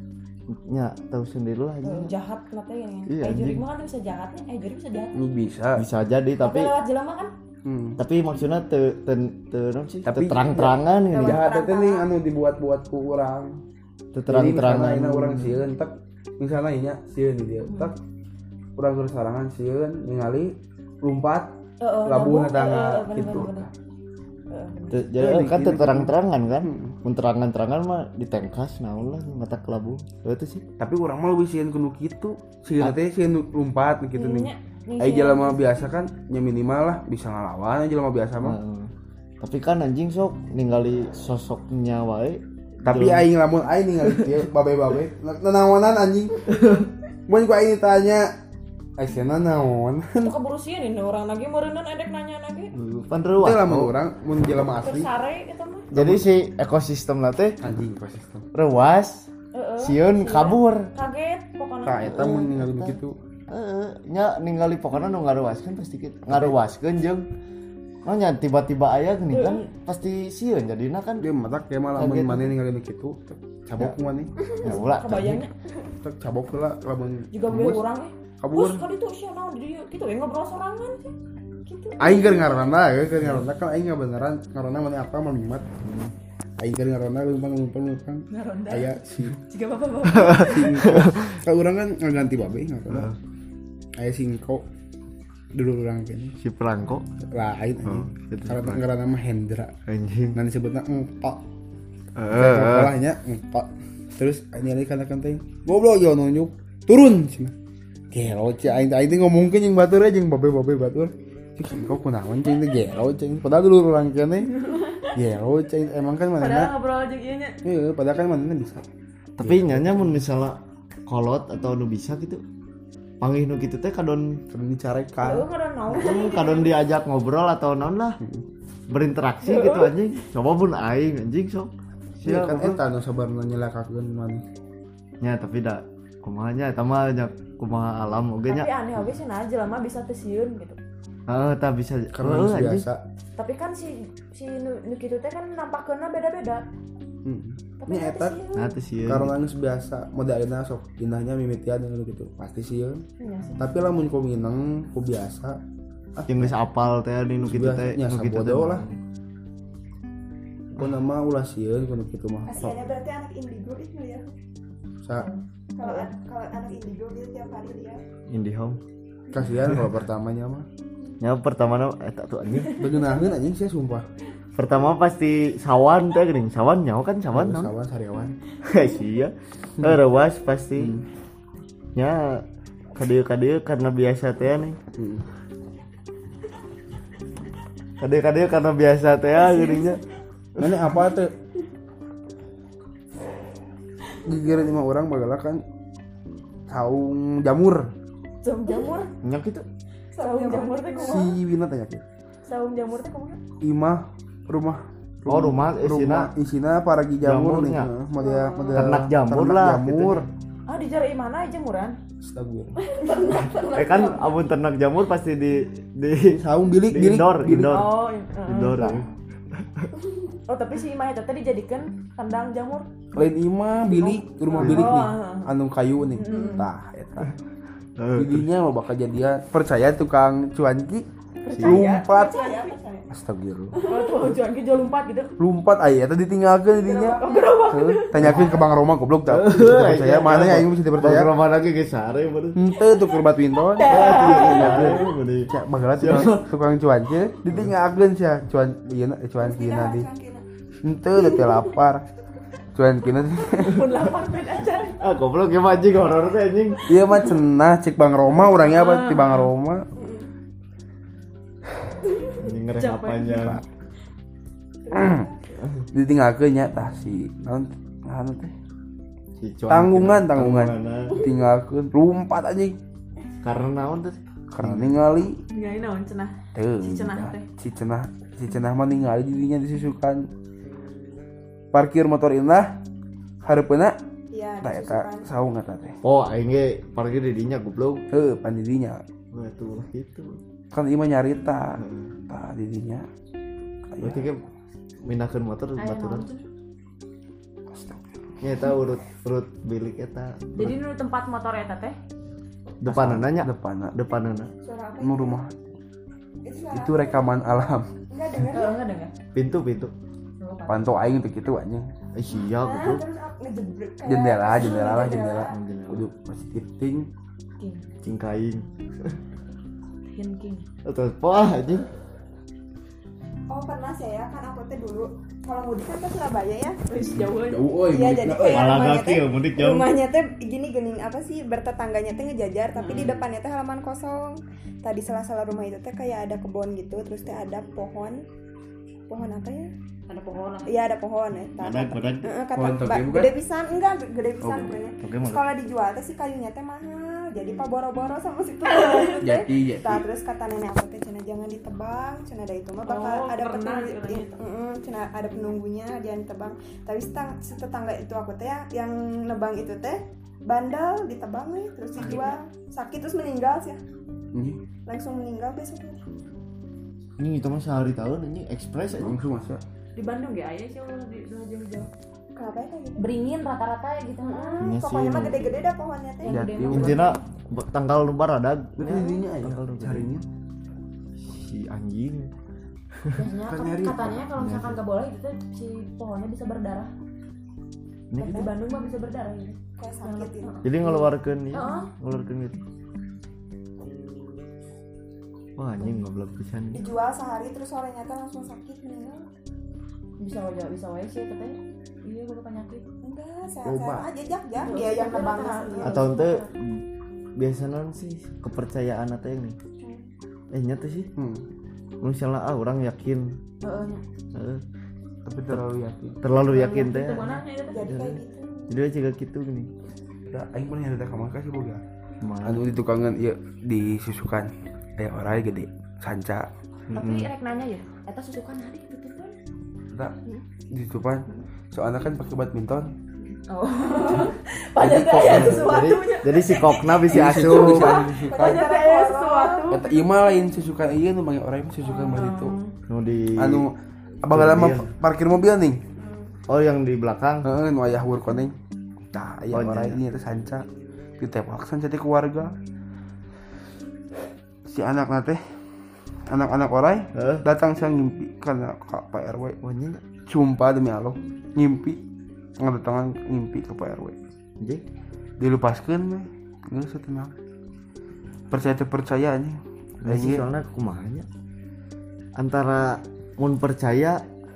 nya tahu sendiri lah Eh, anjing jahat nanti ini. Iya, Eh jurik anjing. mah kan bisa jahatnya. Eh jurik bisa jahat. Lu bisa. bisa jadi Tapi tapi lewat jelema kan. Hmm. tapi maksudnya te te te naon sih Tapi- Teu terang-terangan gini Jahat teh nih anu dibuat-buat ku urang. Teu Jadi terang-terangan misalnya ayeuna urang sieun tak misalnya inya sieun di dia tak urang keur sarangan sieun ningali lumpat Heeh. labuh nyambung. tangga Eh, eh, gitu. bener-bener. Eh, Teu- Ya, jadi kan bikin- teu terang-terangan kan mun terangan-terangan mah ditengkas naon lah mata kelabu itu sih Tapi urang mah leuwih sieun kudu kitu. Sieun teh sieun lumpat gitu nih. Ininya, nih Ai si- jelema biasa kan nya minimal lah bisa ngalawan jelema biasa mah. Heeh. tapi kan anjing sok ningali sosoknya wae Tapi Jelema- aing lamun aing ningali kieu babe-babe nanaonan anjing. Mun ku aing ditanya Aisyana naon? Itu keburu sieun ini orang lagi meureunnan edek nanya lagi. pan Teu reuah lamun oh. urang mun jelema asli Tersare eta mah. jadi si ekosistem na teh anjing ekosistem. reuas Heeh. sieun kabur Kaget pokoknya. Tah eta mun ningali kitu. heeh nya ningali pokona nu ngaruaskeun pasti kitu ngaruaskeun jeung oh nya tiba-tiba aya gini kan pasti sieun jadina kan Dia matak kayak malah mun Kaget. maneh ningali kitu cabok ku maneh. ya ulah Kebayangnya Tak cabok heula lamun juga gue orang eh. kabur. Bos kali itu sia naon di dieu kitu we ngobrol sorangan sih. Gitu. Aing keur ngaranna ya keur ngaranna kan aing beneran ngaranna maneh apa mah mimat. Aing keur ngaranna leumpang leumpang leumpang. Ngaronda. Aya si Jika bapak-bapak. Kalau orang kan ngaganti babe ngaranna. Aya singko dulu orang kene. si perangko Lain anjing. gitu. Karena ngaranna mah Hendra. anjing Ngan disebutna engpak. heeh Sekolahnya engpak. Terus nyari kana-kana teh. Goblok yo nunjuk. Turun cenah. Gelo cing aing aing teh ngomongkeun jeung batur aja jeung babe-babe batur. Cing singko kunaon cing teh gelo cing. Padahal dulu orang kene. Gelo cing emang kan Padahal manehna. ngobrol aja ieu nya. Heeh, padahal kan manehna bisa. tapi nyanya mun misalnya kolot atau nu bisa gitu panggih nu kitu teh kadon Kan dicarekan. Heeh ngaran naon. Hmm, kadon diajak ngobrol atau non lah berinteraksi gitu anjing coba pun aing anjing sok Iya siap kan eta nu sabarna nyelakakeun maneh. nya tapi da kumaha nya eta mah nya kumaha alam oge nya Tapi aneh oge sih nah jelema bisa teu sieun gitu. heeh tah bisa Karena heuh, geus anjing. biasa. Tapi kan si si nu, nu kitu teh kan nampakkeunna beda-beda. Heeh. Tapi Ini nanti eta sieun. nah teh sieun karena geus biasa mode ayeuna sok indahnya mimitian gitu gitu. Pasti sieun. Iya sih. Tapi lamun ku mineng ku biasa jeung geus apal teh di nu kitu teh Nya nu kitu teh sabodo lah. Ku nama ulah sieun kudu kitu mah. Kasihannya berarti anak indigo itu ya. Sa Kalau an- kalau anak indigo dia tiap hari lihat. Indihome kasihan kalau pertamanya mah. nya pertama na eta tuh anjing Beuneunaheun anjing sia sumpah. Pertama pasti sawan teh geuning. Sawan nyaho kan sawan naon? Sawan sariawan. Sia. Eh rewas pasti. Ya kadeu-kadeu karena biasa teh nih. Kadeu-kadeu karena biasa teh geuningnya. Mana apa tuh? Gigiran lima orang bagala kan saung jamur. Saung jamur, Nyak itu. saung jamur teh Si kumaha? Wina tanya ke. Saung jamur teh kumaha? Imah rumah Oh, rumah isina rumah isina paragi jamur nih. jamurnya. Heeh, model model Ternak jamur ternak lah, Jamur. Ah di jari mana jamuran? Astagfirullah. Eh kan abun ternak jamur pasti di di Saung bilik di bilik indoor, bilik. indoor. Oh, in- uh. Indoor. Oh tapi si Imah eta teh dijadikan kandang jamur. Lain imah bilik rumah bilik nih. Oh. Anu kayu nih. Tah eta. Eh, Jadinya lo bakal jadian percaya tukang cuanki Percaya, lumpat. percaya, percaya. Astagfirullah. Oh tuh cuan ki jual lompat gitu. Lumpat aya eta ditinggalkeun didinya. Heuh, tanyakeun ke Bang Roma goblok tah. iya, Percaya mana ya aing bisa dipercaya. Bang Roma lagi ge sare bener. Henteu tuh keur badminton. Cak bagala tukang tukang cuanki ditinggalkeun sia cuan ieu na cuan kina di. Henteu teh lapar. Cuan kina Pun lapar beda aja. Ah goblok ya anjing horor teh anjing. Iya mah cenah cek Bang Roma urangnya apa ti Bang Roma. Anjing ngereh panjang. Ditinggalkeun nya tah si naon anu teh. Si cuan Tanggungan kena- tanggungan. tanggunganna. Tinggalkeun lumpat anjing. Karena naon tuh? Karena ningali Ngai naon cenah. teu Si cenah teh. si cenah si cenah mah ningali dirinya disusukan parkir motor indah hareupeuna Iya, tah eta saung eta teh Oh, aing ge parkir di dinya goblok. heuh pan di dinya Wah, tuh gitu. kan ieu mah nyarita tah di dinya Berarti ge minakeun motor Aya baturan. naon cenah. astagfirullah Nya eta urut urut bilik eta. Jadi nu tempat motor eta teh Depanana nya. depanna Depanana. Suara apa? nu rumah Itu suara itu rekaman alam enggak dengar. eh enggak dengar. Pintu pintu. pantau aing teh kitu anjing Eh sia Nah, goblok. terus aku ngejebrek kayak- jendela jendela lah jendela Jendela. kudu positif ting King, Cingkaing. Hin king. Atau wah anjing. Oh pernah saya kan aku teh dulu kalau mudik kan ke Surabaya ya. Wis jauh euy. euy Iya jadi kayak Malah rumahnya kaki teh ya mudik jauh. rumahnya teh gini gening apa sih bertetangganya teh ngejajar tapi di depannya teh halaman kosong. Tadi sela-sela rumah itu teh kayak ada kebun gitu terus teh ada pohon pohon apa ya? Ada pohon. Iya ada pohon ya. Tah, Badak kata- badak. Heeh, kata Pohon toge Mbak, bukan? gede pisan enggak gede pisan Oh, pokoknya. toge Terus mah. kalau dijual teh si kayunya teh mahal. Jadi pak boro-boro sama si tukang itu teh. Jati, jati. Tah, terus kata nenek aku teh cenah jangan ditebang, cenah ada itu mah bakal Oh, ada pernah penunggu, katanya itu. Heeh, cenah ada penunggunya jangan ditebang. Tapi setang- si tetangga itu aku teh ya, yang nebang itu teh bandel ditebang nih terus dijual sakit terus meninggal sih ini langsung meninggal besoknya. Ini itu mah sehari tahun anjing ekspres anjing. langsung masa Di Bandung ya aya sih ulah di ulah jauh-jauh. Kenapa ya kayak gitu? Beringin rata-rata ya gitu. Hmm, Iya sih, pokoknya mah emang. gede-gede dah pohonnya teh. Yang gede Jati. mah. Anjina tanggal nu baradag. itu di dinya aya Tanggal nu carinya Si anjing. Biasanya Kan kan- nyari. katanya kalau misalkan nggak boleh gitu si pohonnya bisa berdarah. Ini Tapi di Bandung mah bisa berdarah gitu. Kayak sakit gitu. jadi ngeluarkeun ya. Heeh. Ngeluarkeun gitu. Wah anjing goblok pisan. Dijual sehari terus sorenya teh langsung sakit meninggal. Bisa wae bisa wae sih katanya. Iya gue penyakit. Enggak, Loba. sehat-sehat aja jak jak dia yang nebangnya sendiri. Atau ente biasa non sih kepercayaan atau yang nih. Eh nyata sih. hmm. Misalnya ah orang yakin. Heeh. nya. Heeh. tapi terlalu yakin Terlalu yakin teh. Itu mana nya itu teh? Jadi kayak gitu. Jadi aja kayak gitu gini. da aing pernah nyarita ka markas sih boga Mana? anu di tukangan ieu disusukan aya orai gede sanca Tapi rek nanya ya, eta susukan hari betul kan? da ditutupan soalnya kan pakai badminton Oh. Padahal teh aya sesuatu Jadi, nya. jadi si kokna bisa Jadi asup. bisa disusukan Padahal teh aya sesuatu. eta ieu mah lain susukan ieu nu mange orai mah susukan mah itu Nu di anu abang mah parkir mobil nih oh yang di belakang. heeh nu aya hur koneng tah aya Oh, orai iya. ini teh sanca ditembak sanca teh keluarga si anakna teh anak-anak orai Heeh. datang saya ngimpi karena Kak Pak R W Wah anjing. sumpah demi Allah ngimpi ngadatangan ngimpi ke Pak R W Anjing. dilupaskeun mah geus tenang percaya teu percaya nya Nah, sih soalnya kumaha nya. Antara mun percaya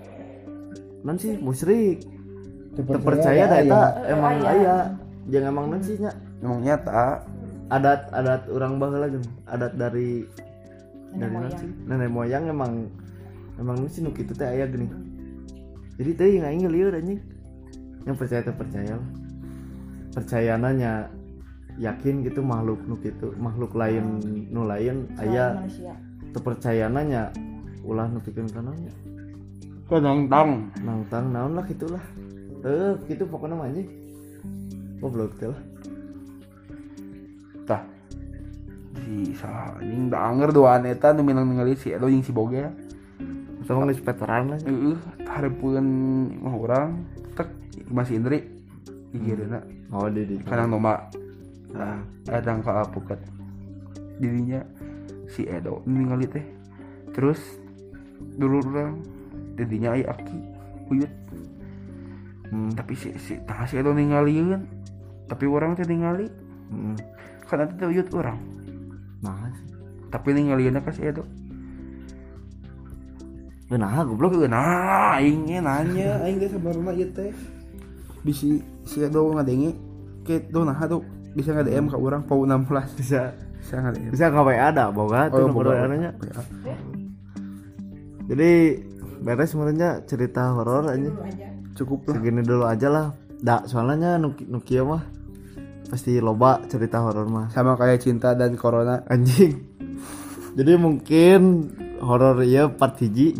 non sih musyrik. Terpercaya Terpercaya ada dah eta aya. emang Eh, aya. aya. Jangan emang non sih nya. emang nyata Adat-adat orang baheula geuning. Adat dari Nenek dari non moyang. sih. Nenek moyang emang emang nu sih nu kitu teh aya geuning. Jadi teh yang aing lieur anjing. Yang percaya teh percaya lah. Percayaannya yakin gitu makhluk nu kitu, makhluk lain nu lain Selain aya manusia. kepercayaannya ulah nepikeun kana nya. kadang-kadang Nangtang naon lah gitulah. Eh, gitu pokoknya mah anjing. Goblok teh lah. tah si saha anjing da anger doaan eta nu minang ningali si Edo jeung si Boga Sama geus veteran lah. heeh hareupeun mah urang tek masih Indri digireuna Oh, di di. kanang domba nah adang ka apuket dirinya si Edo ningali teh terus dulu urang didinya aya aki uyut Hmm. tapi si si tah si Edo ningalieun tapi urang teh ningali Hmm. kan eta teh uyut urang Nah, sih. tapi ningalieunna ka si Edo Nah, goblok. Goblok nah aing ge nanya aing ge sabarna ieu teh bisi si Edo ngadenge ke do nah tuh bisa nge-D M ka urang pau enam belas Bisa bisa nge-D M bisa nggak W A ada boga tuh nomor W A-nya. Jadi beres sebenarnya cerita horor aja. cukup lah Segini dulu aja lah. Da, soalnya nu nu kieu mah pasti loba cerita horor mah. sama kayak cinta dan corona Anjing. Jadi mungkin horor ieu part hiji.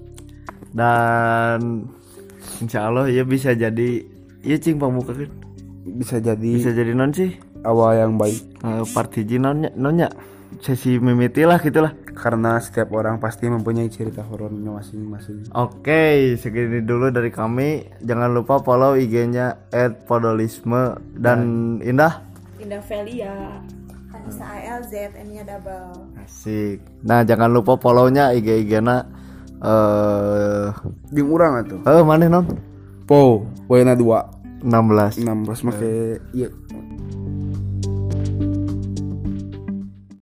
Dan insya Allah ya bisa jadi iya cing pamuka kan bisa jadi bisa jadi non sih awal yang baik uh, part hiji nonnya nonnya sesi mimiti lah gitulah. karena setiap orang pasti mempunyai cerita horornya masing-masing. Oke, segini dulu dari kami. Jangan lupa follow I G-nya et podolisme dan Indah. Indah Velia. Anissa A L Z N-nya double. Asik. Nah, jangan lupa follow-nya I G I G-na eh Jeung urang atuh. eh maneh non Po, poena dua enam belas. enam belas make ieu